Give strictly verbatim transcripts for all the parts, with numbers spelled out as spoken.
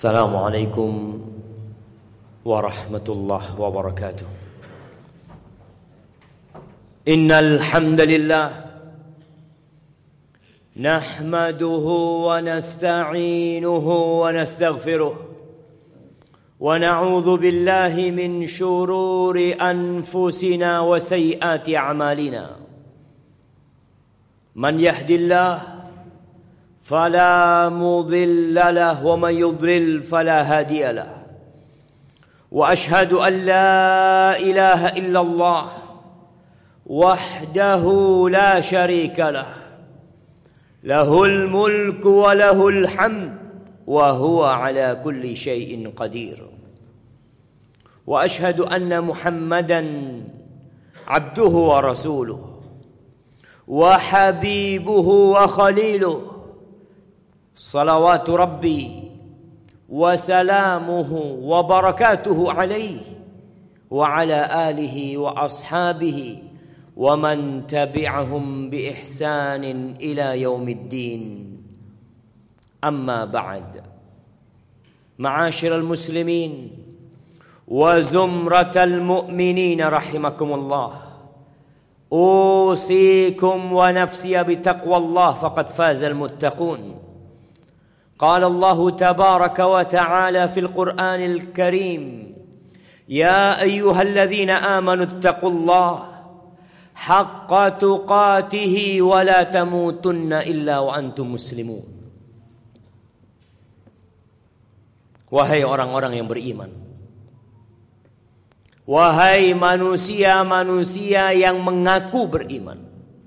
Assalamualaikum warahmatullahi wabarakatuh. Innal hamdalillah nahmaduhu wa nasta'inuhu wa nastaghfiruh wa na'udzu billahi min shururi anfusina wa sayyiati a'malina. Man yahdillahu فلا مضل له ومن يضلل فلا هادي له وأشهد أن لا إله إلا الله وحده لا شريك له له الملك وله الحمد وهو على كل شيء قدير وأشهد أن محمدا عبده ورسوله وحبيبه وخليله صلوات ربي وسلامه وبركاته عليه وعلى آله وأصحابه ومن تبعهم بإحسان إلى يوم الدين. أما بعد، معاشر المسلمين وزمرة المؤمنين رحمكم الله، أوصيكم ونفسي بتقوى الله فقد فاز المتقون. قال الله تبارك وتعالى في القرآن الكريم: يا أيها الذين آمنوا اتقوا الله حق تقاته ولا تموتن إلا وأنتم مسلمون. Wahai orang-orang yang beriman, wahai manusia-manusia yang mengaku beriman,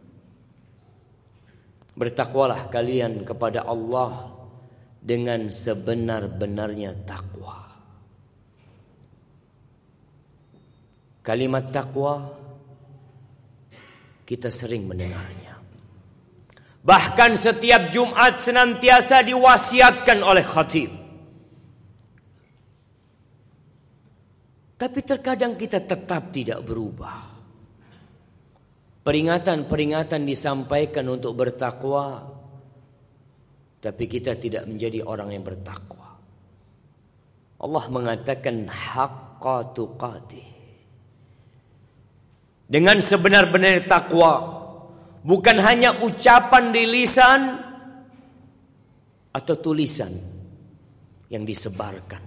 bertakwalah kalian kepada Allah dengan sebenar-benarnya takwa. Kalimat takwa kita sering mendengarnya. Bahkan setiap Jumat senantiasa diwasiatkan oleh khatib. Tapi terkadang kita tetap tidak berubah. Peringatan-peringatan disampaikan untuk bertakwa, tapi kita tidak menjadi orang yang bertakwa. Allah mengatakan haqqa tuqatih, dengan sebenar-benar takwa, bukan hanya ucapan di lisan atau tulisan yang disebarkan.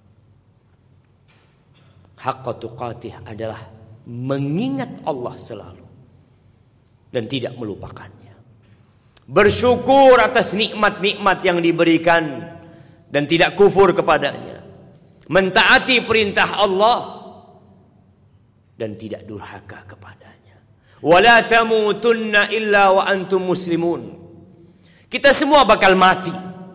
Haqqa tuqatih adalah mengingat Allah selalu dan tidak melupakannya. Bersyukur atas nikmat-nikmat yang diberikan dan tidak kufur kepadanya. Mentaati perintah Allah dan tidak durhaka kepadanya. Wala tamutunna illa wa antum muslimun. Kita semua bakal mati.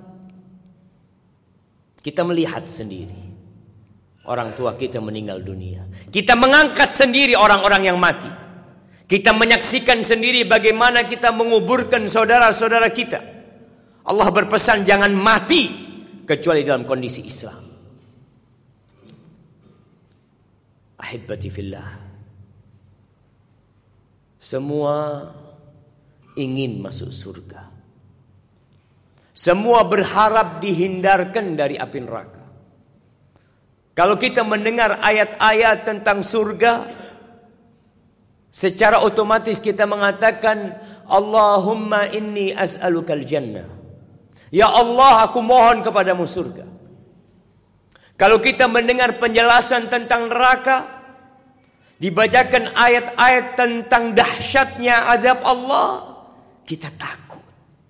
Kita melihat sendiri orang tua kita meninggal dunia. Kita mengangkat sendiri orang-orang yang mati. Kita menyaksikan sendiri bagaimana kita menguburkan saudara-saudara kita. Allah berpesan jangan mati kecuali dalam kondisi Islam. Ahibbati fillah, semua ingin masuk surga. Semua berharap dihindarkan dari api neraka. Kalau kita mendengar ayat-ayat tentang surga, secara otomatis kita mengatakan Allahumma inni as'alukal jannah. Ya Allah, aku mohon kepadamu surga. Kalau kita mendengar penjelasan tentang neraka, dibacakan ayat-ayat tentang dahsyatnya azab Allah, kita takut.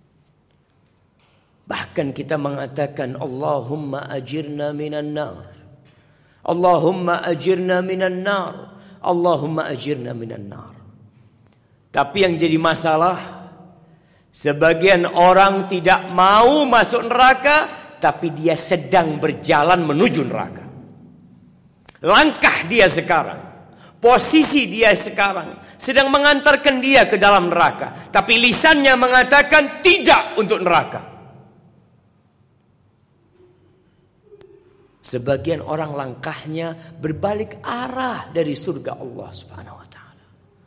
Bahkan kita mengatakan Allahumma ajirna minan nar. Allahumma ajirna minan nar. Allahumma ajirna minan nar. Tapi yang jadi masalah, sebagian orang tidak mau masuk neraka, tapi dia sedang berjalan menuju neraka. Langkah dia sekarang, posisi dia sekarang sedang mengantarkan dia ke dalam neraka, tapi lisannya mengatakan tidak untuk neraka. Sebagian orang langkahnya berbalik arah dari surga Allah Subhanahu wa taala.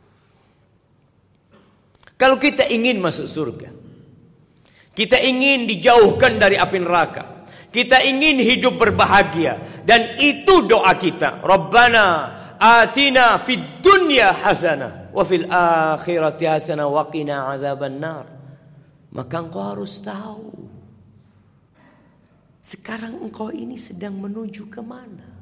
Kalau kita ingin masuk surga, kita ingin dijauhkan dari api neraka, Kita ingin hidup berbahagia. Dan itu doa kita. Rabbana atina fid dunya hasanah wa fil akhirati hasanah wa qina adzabannar. Maka engkau harus tahu, sekarang engkau ini sedang menuju kemana?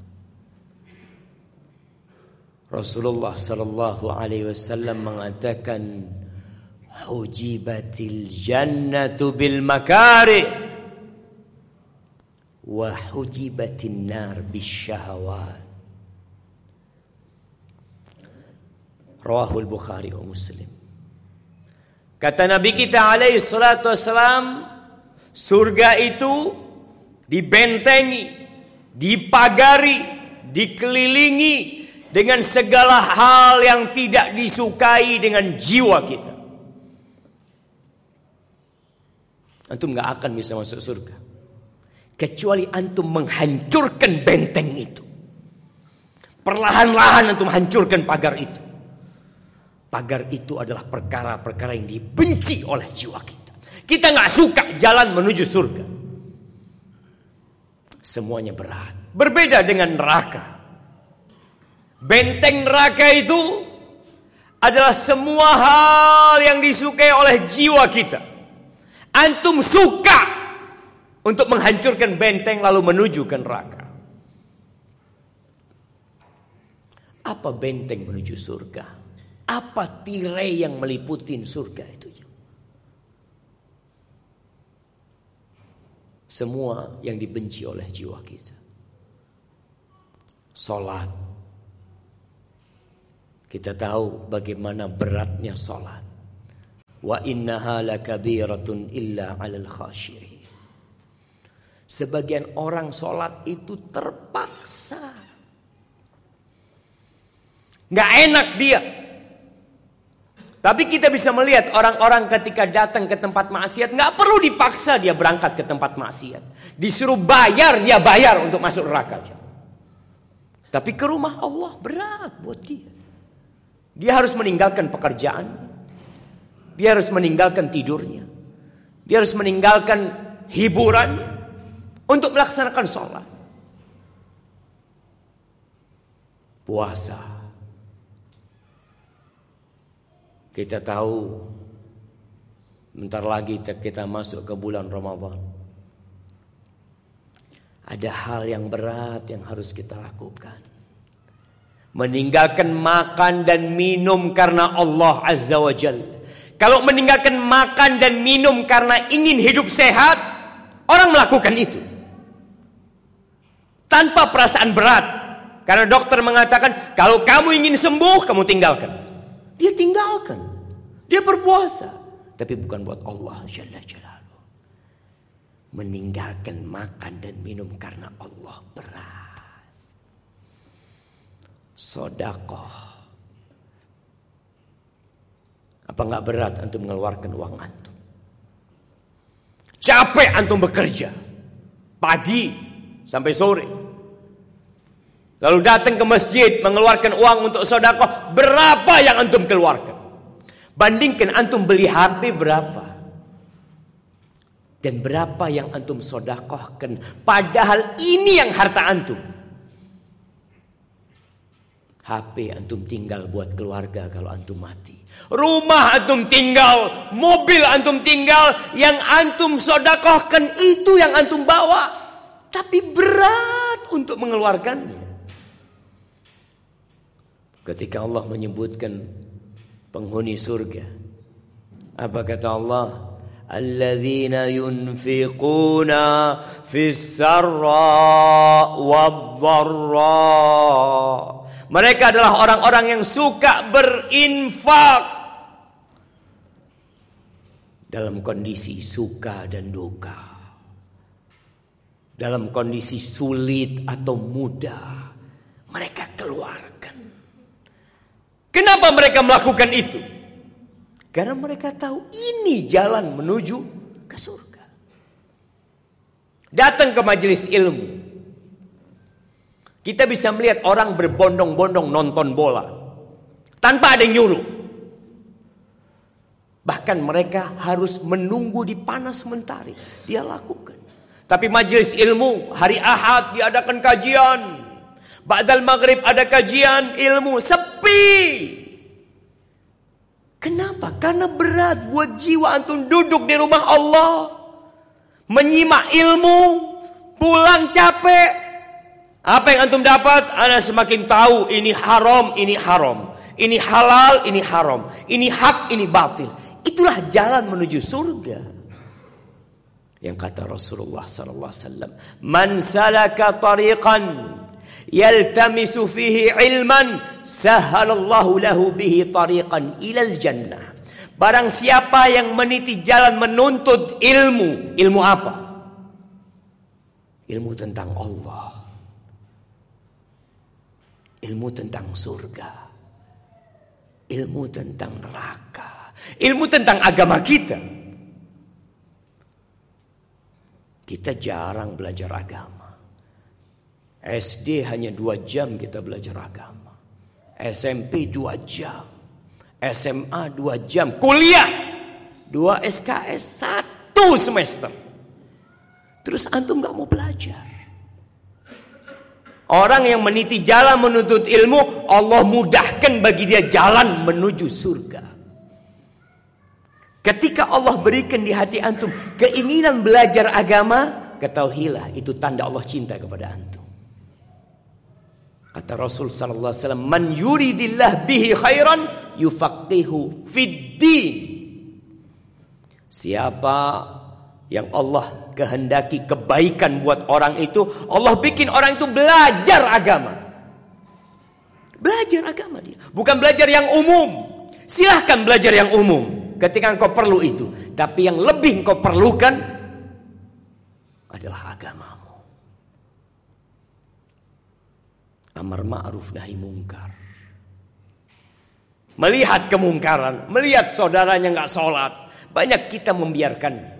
Rasulullah sallallahu alaihi wasallam mengatakan, hujibatil jannatu bil makarih wa hujibatin nar bis syahawat. Rawahul Bukhari wa Muslim. Kata Nabi kita alaihi salatu wassalam, surga itu dibentengi, dipagari, dikelilingi dengan segala hal yang tidak disukai dengan jiwa kita. Antum gak akan bisa masuk surga kecuali antum menghancurkan benteng itu. Perlahan-lahan antum hancurkan pagar itu. Pagar itu adalah perkara-perkara yang dibenci oleh jiwa kita. Kita gak suka jalan menuju surga. Semuanya berat. Berbeda dengan neraka. Benteng neraka itu adalah semua hal yang disukai oleh jiwa kita. Antum suka untuk menghancurkan benteng lalu menuju ke neraka. Apa benteng menuju surga? Apa tirai yang meliputi surga itu? Semua yang dibenci oleh jiwa kita. Salat. Kita tahu bagaimana beratnya salat. Wa innaha lakabiratun illa 'alal khashiyin. Sebagian orang salat itu terpaksa. Enggak enak dia. Tapi kita bisa melihat orang-orang ketika datang ke tempat maksiat, enggak perlu dipaksa dia berangkat ke tempat maksiat. Disuruh bayar, dia bayar untuk masuk neraka. Tapi ke rumah Allah berat buat dia. Dia harus meninggalkan pekerjaan. Dia harus meninggalkan tidurnya. Dia harus meninggalkan hiburan untuk melaksanakan sholat. Puasa. Kita tahu bentar lagi kita masuk ke bulan Ramadan. Ada hal yang berat yang harus kita lakukan. Meninggalkan makan dan minum karena Allah Azza wa Jalla. Kalau meninggalkan makan dan minum karena ingin hidup sehat, orang melakukan itu tanpa perasaan berat. Karena dokter mengatakan, kalau kamu ingin sembuh, kamu tinggalkan. Dia tinggalkan. Dia berpuasa. Tapi bukan buat Allah Jalla Jalaluhu. Meninggalkan makan dan minum karena Allah berat. Sedekah. Apa enggak berat antum mengeluarkan uang antum? Capek antum bekerja pagi sampai sore. Lalu datang ke masjid mengeluarkan uang untuk sedekah, berapa yang antum keluarkan? Bandingkan antum beli H P berapa? Dan berapa yang antum sedekahkan? Padahal ini yang harta antum. H P antum tinggal buat keluarga kalau antum mati. Rumah antum tinggal, mobil antum tinggal, yang antum sedekahkan itu yang antum bawa. Tapi berat untuk mengeluarkannya. Ketika Allah menyebutkan penghuni surga, apa kata Allah? Alladzina yunfiquna fis sarra wad-dharra. Mereka adalah orang-orang yang suka berinfak dalam kondisi suka dan duka, dalam kondisi sulit atau mudah, mereka keluarkan. Kenapa mereka melakukan itu? Karena mereka tahu ini jalan menuju ke surga. Datang ke majelis ilmu, kita bisa melihat orang berbondong-bondong nonton bola tanpa ada yang nyuruh. Bahkan mereka harus menunggu di panas mentari. Dia lakukan. Tapi majelis ilmu, hari Ahad diadakan kajian. Ba'dal maghrib ada kajian ilmu, sepi. Kenapa? Karena berat buat jiwa antum duduk di rumah Allah, menyimak ilmu, pulang capek. Apa yang antum dapat? Ana semakin tahu ini haram, ini haram. Ini halal, ini haram. Ini hak, ini batil. Itulah jalan menuju surga. Yang kata Rasulullah sallallahu alaihi wasallam, "Man salaka tariqan yaltamisu fihi ilman, sahhalallahu lahu bihi tariqan ilal jannah." Barang siapa yang meniti jalan menuntut ilmu, ilmu apa? Ilmu tentang Allah. Ilmu tentang surga. Ilmu tentang neraka. Ilmu tentang agama kita. Kita jarang belajar agama. S D hanya dua jam kita belajar agama. S M P dua jam. S M A dua jam. Kuliah dua S K S satu semester. Terus antum gak mau belajar. Orang yang meniti jalan menuntut ilmu, Allah mudahkan bagi dia jalan menuju surga. Ketika Allah berikan di hati antum keinginan belajar agama, ketahuilah itu tanda Allah cinta kepada antum. Kata Rasul sallallahu alaihi wasallam, "Man yuridillah bihi khairan yufaqihu fid din." Siapa yang Allah kehendaki kebaikan buat orang itu, Allah bikin orang itu belajar agama. Belajar agama dia, bukan belajar yang umum. Silahkan belajar yang umum ketika engkau perlu itu. Tapi yang lebih engkau perlukan adalah agamamu. Amar ma'ruf nahi mungkar. Melihat kemungkaran, melihat saudaranya gak sholat, banyak kita membiarkan.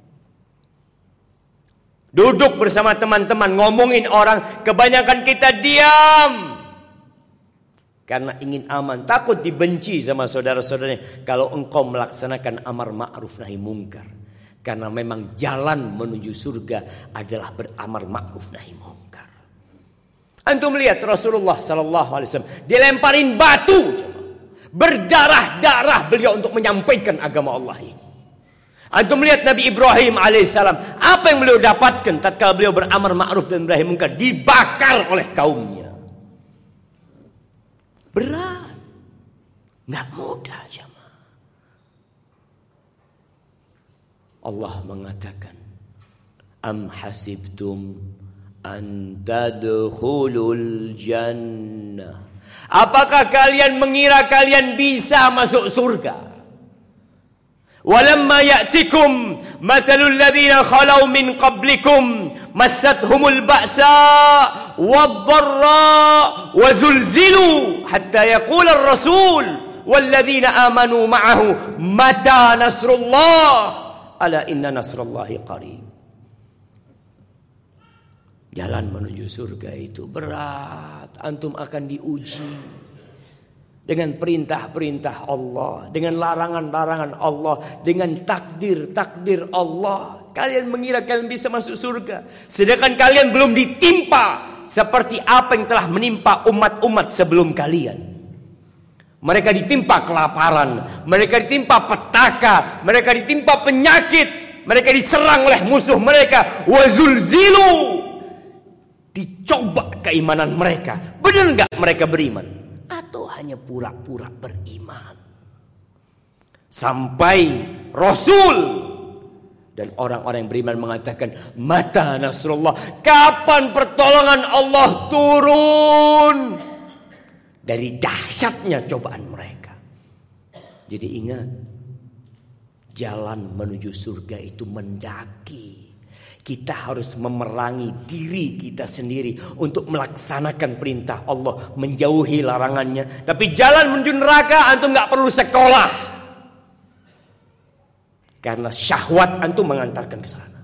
Duduk bersama teman-teman ngomongin orang, kebanyakan kita diam. Karena ingin aman, takut dibenci sama saudara-saudaranya kalau engkau melaksanakan amar ma'ruf nahi mungkar. Karena memang jalan menuju surga adalah beramar ma'ruf nahi mungkar. Antum lihat Rasulullah sallallahu alaihi wasallam dilemparin batu, berdarah-darah beliau untuk menyampaikan agama Allah ini. Antum lihat Nabi Ibrahim alaihissalam, apa yang beliau dapatkan tatkala beliau beramar ma'ruf dan nahi mungkar? Dibakar oleh kaumnya. Berat, nggak mudah jemaah. Allah mengatakan, "Am hasibtum an tadkhulul jannah." Apakah kalian mengira kalian bisa masuk surga? Walamma ya'tikum mathalul ladzina khalau min qablikum massathumul ba'sa wadh-dharra wa zulzilu hatta yaqula ar-rasul wal ladzina amanu ma'ahu mata nasrullah ala inna nasrallahi qarib. Jalan menuju surga itu berat. Antum akan diuji dengan perintah-perintah Allah, dengan larangan-larangan Allah, dengan takdir-takdir Allah. Kalian mengira kalian bisa masuk surga, sedangkan kalian belum ditimpa seperti apa yang telah menimpa umat-umat sebelum kalian. Mereka ditimpa kelaparan, mereka ditimpa petaka, mereka ditimpa penyakit, mereka diserang oleh musuh mereka. Wazulzilu, dicoba keimanan mereka. Benar enggak mereka beriman? Atau hanya pura-pura beriman? Sampai Rasul dan orang-orang yang beriman mengatakan, mata nasrullah, kapan pertolongan Allah turun? Dari dahsyatnya cobaan mereka. Jadi ingat, jalan menuju surga itu mendaki. Kita harus memerangi diri kita sendiri untuk melaksanakan perintah Allah, menjauhi larangannya. Tapi jalan menuju neraka antum gak perlu sekolah, karena syahwat antum mengantarkan ke sana.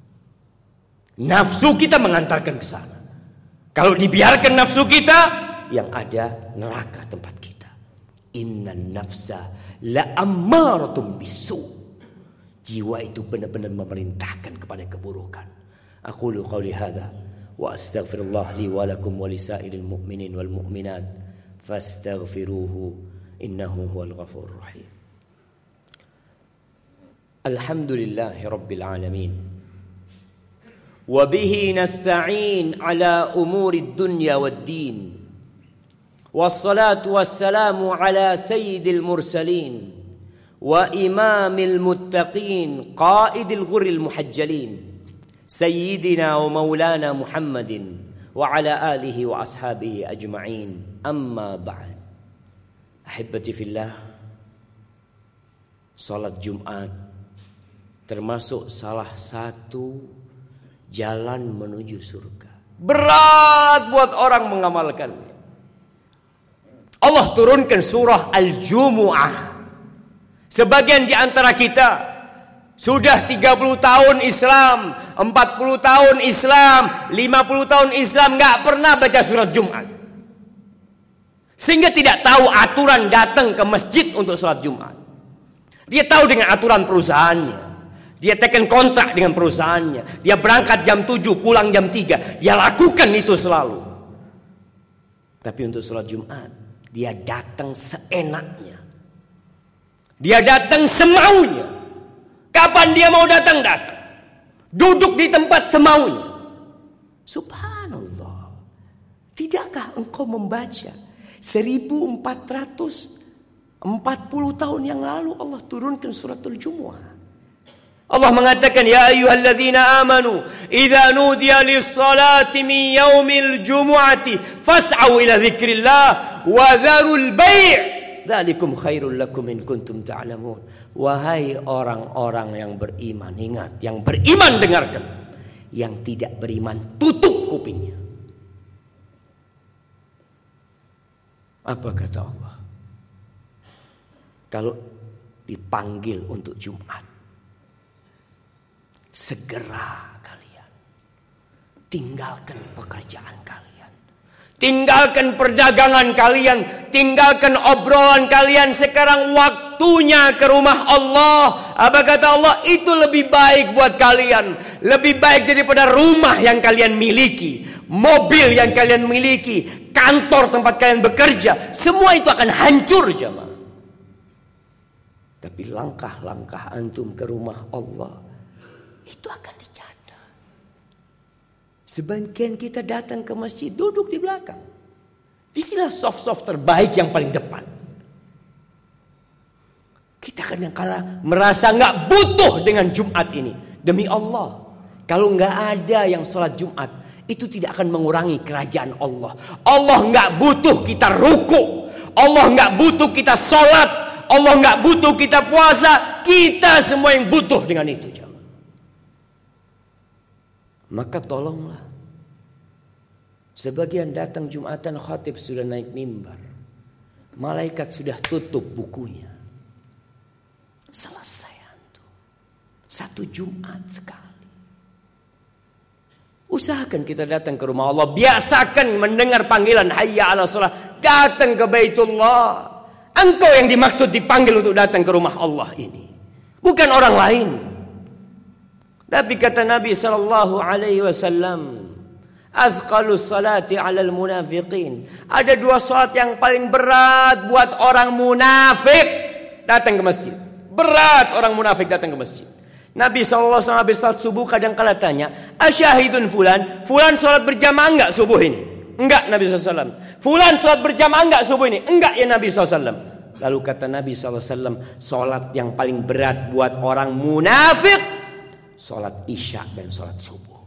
Nafsu kita mengantarkan ke sana. Kalau dibiarkan nafsu kita, yang ada neraka tempat kita. Innan nafsa la ammaratum bisu. Jiwa itu benar-benar memerintahkan kepada keburukan. Aqulu qawli hadha wa astaghfirullah li wa lakum wa lisa'iril mu'minin wal mu'minat fastaghfiruhu innahu huwal ghafurur rahim. Alhamdulillahi rabbil alamin. Wa bihi nasta'in ala umuri dunya wad din. Wassalatu wassalamu ala sayyidil mursalin wa imamil muttaqin qaidil ghurril muhajjalin sayyidina wa maulana Muhammadin wa ala alihi wa ashabihi ajma'in. Amma ba'd. Ahibati fillah, salat Jumat termasuk salah satu jalan menuju surga. Berat buat orang mengamalkannya. Allah turunkan surah Al-Jumu'ah. Sebagian di antara kita sudah tiga puluh tahun Islam, empat puluh tahun Islam, lima puluh tahun Islam, gak pernah baca surat Jumat. Sehingga tidak tahu aturan datang ke masjid untuk sholat Jumat. Dia tahu dengan aturan perusahaannya. Dia tekan kontrak dengan perusahaannya. Dia berangkat jam tujuh, pulang jam tiga. Dia lakukan itu selalu. Tapi untuk sholat Jumat, dia datang seenaknya. Dia datang semaunya. Kapan dia mau datang, datang. Duduk di tempat semaunya. Subhanallah. Tidakkah engkau membaca seribu empat ratus empat puluh tahun yang lalu Allah turunkan suratul Jumu'ah. Allah mengatakan, ya ayyuhalladzina amanu idza nudiya lis-salati min yaumil jumu'ati fas'au ila dzikrillah wa dzarul bai'. Dzalikum khairul lakum in kuntum ta'lamun. Wahai orang-orang yang beriman, ingat, yang beriman dengarkan. Yang tidak beriman tutup kupingnya. Apa kata Allah? Kalau dipanggil untuk Jumat, segera kalian tinggalkan pekerjaan kalian, tinggalkan perdagangan kalian, tinggalkan obrolan kalian. Sekarang waktunya ke rumah Allah. Apa kata Allah? Itu lebih baik buat kalian, lebih baik daripada rumah yang kalian miliki, mobil yang kalian miliki, kantor tempat kalian bekerja. Semua itu akan hancur, jemaah. Tapi langkah-langkah antum ke rumah Allah itu akan dicatat. Sebagian kita datang ke masjid, duduk di belakang. Disinilah soft-soft terbaik yang paling depan. Kita kadang-kala merasa gak butuh dengan Jumat ini. Demi Allah, kalau gak ada yang sholat Jumat, itu tidak akan mengurangi kerajaan Allah. Allah gak butuh kita ruku. Allah gak butuh kita sholat. Allah gak butuh kita puasa. Kita semua yang butuh dengan itu. Maka tolonglah. Sebagian datang Jumatan, khatib sudah naik mimbar. Malaikat sudah tutup bukunya. Selesai antum. Satu Jumat sekali. Usahakan kita datang ke rumah Allah. Biasakan mendengar panggilan hayya ala shalah. Datang ke Baitullah. Engkau yang dimaksud dipanggil untuk datang ke rumah Allah ini. Bukan orang lain. Tapi kata Nabi sallallahu alaihi wasallam, azqalus salati 'alal munafiqin. Ada dua salat yang paling berat buat orang munafik datang ke masjid. Berat orang munafik datang ke masjid. Nabi sallallahu alaihi wasallam habis salat subuh kadang-kala tanya, "Asyahidun fulan? Fulan salat berjamaah enggak subuh ini?" Enggak, Nabi sallallahu alaihi wasallam. Fulan salat berjamaah enggak subuh ini? Enggak ya Nabi sallallahu alaihi wasallam. Lalu kata Nabi sallallahu alaihi wasallam, salat yang paling berat buat orang munafik, salat isya dan salat subuh.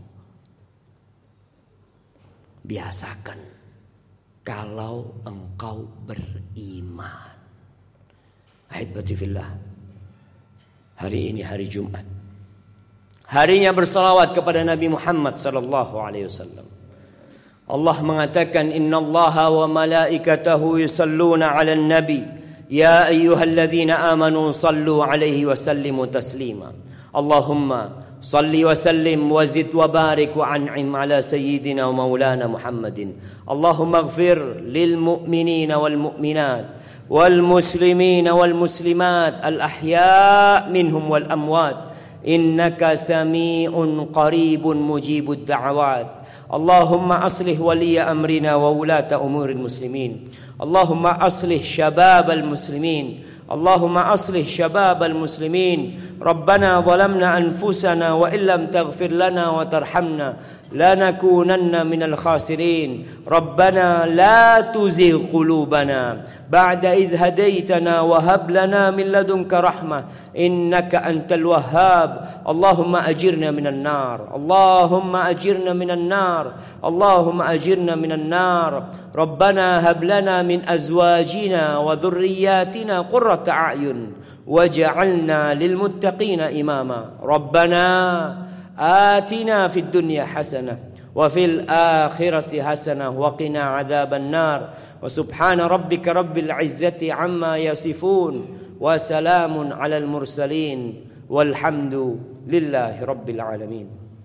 Biasakan kalau engkau beriman. Ahibati fillah, hari ini hari Jumat, harinya bersalawat kepada Nabi Muhammad sallallahu alaihi wasallam. Allah mengatakan, innallaha wa malaikatahu yusalluna 'alan nabi ya ayyuhalladzina amanu sallu 'alaihi wa sallimu taslima. Allahumma salli wa sallim wa zid wa barik wa an'im ala sayyidina wa maulana Muhammadin. Allahumma ighfir lil mu'minina wal mu'minat wal muslimina wal muslimat al ahya' minhum wal amwat إنك سميع قريب مجيب الدعوات. اللهم أصلح ولي أمرنا وولاة أمور المسلمين. اللهم أصلح شباب المسلمين. اللهم أصلح شباب المسلمين. ربنا ظلمنا أنفسنا وإن لم تغفر لنا وترحمنا لنكونن من الخاسرين. ربنا لا تزغ قلوبنا بعد إذ هديتنا وهب لنا من لدنك رحمة إنك أنت الوهاب. اللهم أجرنا من النار. اللهم أجرنا من النار. اللهم أجرنا من النار. ربنا هب لنا من أزواجنا وذرياتنا قرة أعين واجعلنا للمتقين إماما. ربنا آتنا في الدنيا حسنة وفي الآخرة حسنة وقنا عذاب النار. وسبحان ربك رب العزة عما يصفون وسلام على المرسلين والحمد لله رب العالمين.